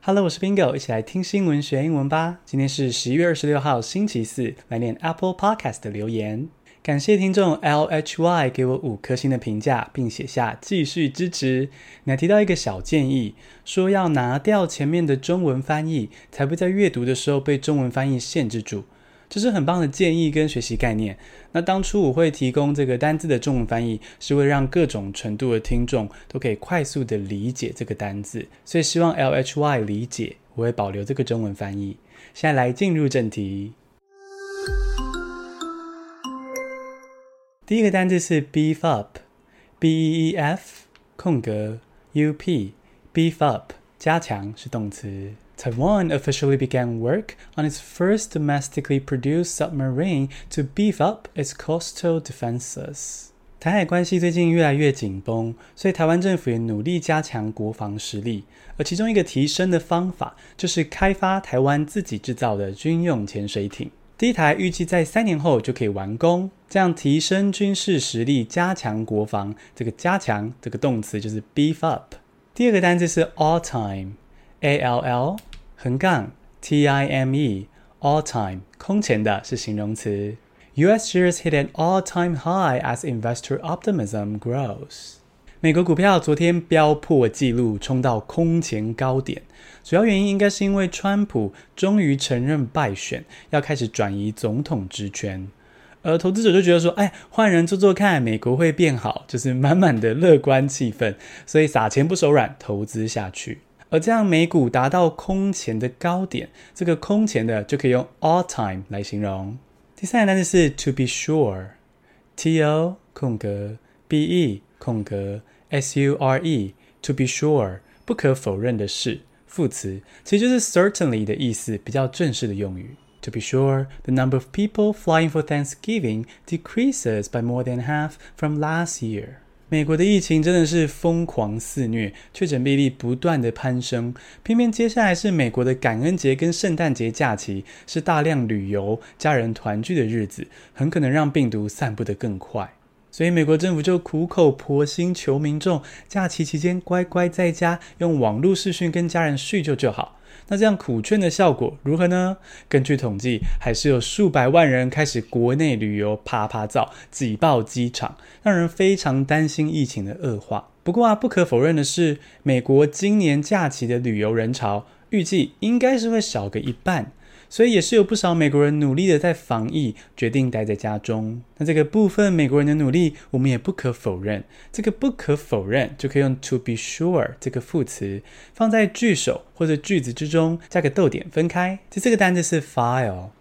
Hello， 我是 Bingo， 一起來聽新聞學英文吧。今天是11月26號星期四，來念 Apple Podcast 的留言。感謝聽眾 LHY 給我5顆星的評價，並寫下繼續支持。你還提到一個小建議，說要拿掉前面的中文翻譯，才不會在閱讀的時候被中文翻譯限制住。這是很棒的建議跟學習概念。那當初我會提供這個單字的中文翻譯，是為了讓各種程度的聽眾都可以快速的理解這個單字，所以希望 LHY 理解，我會保留這個中文翻譯。現在來進入正題。第一個單字是 beef up， B-E-E-F U-P beef up 加強是動詞。Taiwan officially began work on its first domestically produced submarine to beef up its coastal defenses. 台海關係最近越來越緊繃，所以台灣政府也努力加強國防實力。而其中一個提升的方法，就是開發台灣自己製造的軍用潛水艇。第一台預計在3年後就可以完工，這樣提升軍事實力，加強國防。這個加強這個動詞就是 beef up。第二個單字是 all-time。A-L-L T-I-M-E all time 空前的是形容詞。US shares hit an all-time high as investor optimism grows. 美國股票昨天飆破紀錄，衝到空前高點。主要原因應該是因為川普終於承認敗選，要開始轉移總統職權。而投資者就覺得說，換人做做看，美國會變好，就是滿滿的樂觀氣氛，所以撒錢不手軟，投資下去。而這樣美股達到空前的高點，這個空前的就可以用 all time 來形容。第三個單詞是 to be sure， T-O 空格 B-E 空格 S-U-R-E to be sure 不可否認的是，副詞其實就是 certainly 的意思，比較正式的用語。To be sure, the number of people flying for Thanksgiving decreases by more than half from last year. 美國的疫情真的是瘋狂肆虐，確診病例不斷的攀升，偏偏接下來是美國的感恩節跟聖誕節假期，是大量旅遊、家人團聚的日子，很可能讓病毒散布得更快。所以美國政府就苦口婆心求民眾，假期期間乖乖在家，用網絡視訊跟家人敘舊就好。那這樣苦勸的效果如何呢？根據統計，還是有數百萬人開始國內旅遊趴趴造，擠爆機場，讓人非常擔心疫情的惡化。不過不可否認的是，美國今年假期的旅遊人潮預計應該是會少個一半，所以也是有不少美國人努力的在防疫，決定待在家中。那這個部分美國人的努力，我們也不可否認。這個不可否認就可以用 to be sure 這個副詞放在句首或者句子之中，加個逗點分開。第四個單字是 file，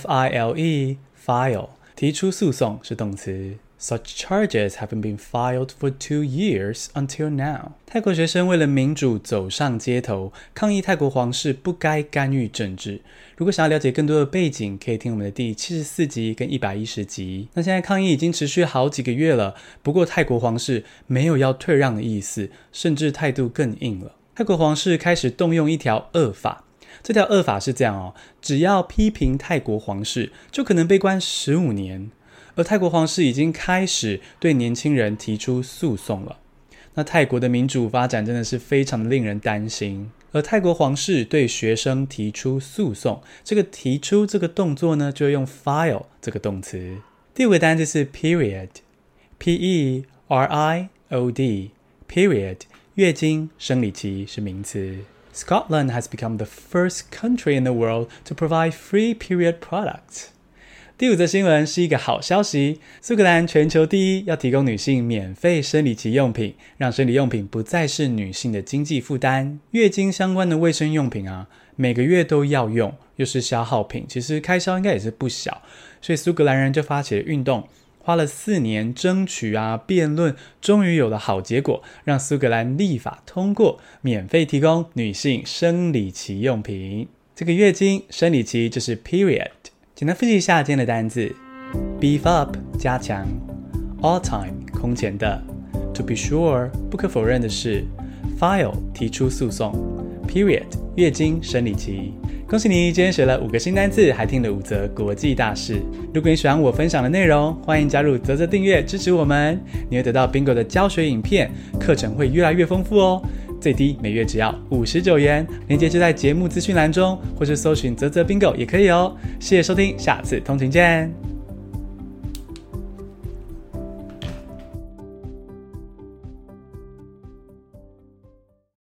F-I-L-E file 提出訴訟是動詞。Such charges haven't been filed for 2 years until now. 泰國學生為了民主走上街頭，抗議泰國皇室不該干預政治。如果想要了解更多的背景，可以聽我們的第74集跟110集。那現在抗議已經持續好幾個月了，不過泰國皇室沒有要退讓的意思，甚至態度更硬了。泰國皇室開始動用一條惡法，這條惡法是這樣只要批評泰國皇室，就可能被關15年。而泰國皇室已經開始對年輕人提出訴訟了。那泰國的民主發展真的是非常的令人擔心。而泰國皇室對學生提出訴訟，這個提出這個動作呢，就會用 file 這個動詞。第五個單字是 period， P-E-R-I-O-D period 月經生理期是名詞。Scotland has become the first country in the world to provide free period products。第五則新聞是一個好消息，蘇格蘭全球第一，要提供女性免費生理期用品，讓生理用品不再是女性的經濟負擔。月經相關的衛生用品每個月都要用，又是消耗品，其實開銷應該也是不小，所以蘇格蘭人就發起了運動，花了4年爭取辯論，終於有了好結果，讓蘇格蘭立法通過，免費提供女性生理期用品。這個月經生理期就是 period。簡單複習一下今天的單字 beef up 加強 all time 空前的 to be sure 不可否認的是 file 提出訴訟 period 月經生理期。恭喜你今天學了5個新單字，還聽了5則國際大事。如果你喜歡我分享的內容，歡迎加入嘖嘖訂閱支持我們，你會得到 Bingo 的教學影片，課程會越來越豐富哦。 最低每月只要59元，鏈接就在節目資訊欄中，或是搜尋嘖嘖 Bingo 也可以哦。謝謝收聽，下次通勤見。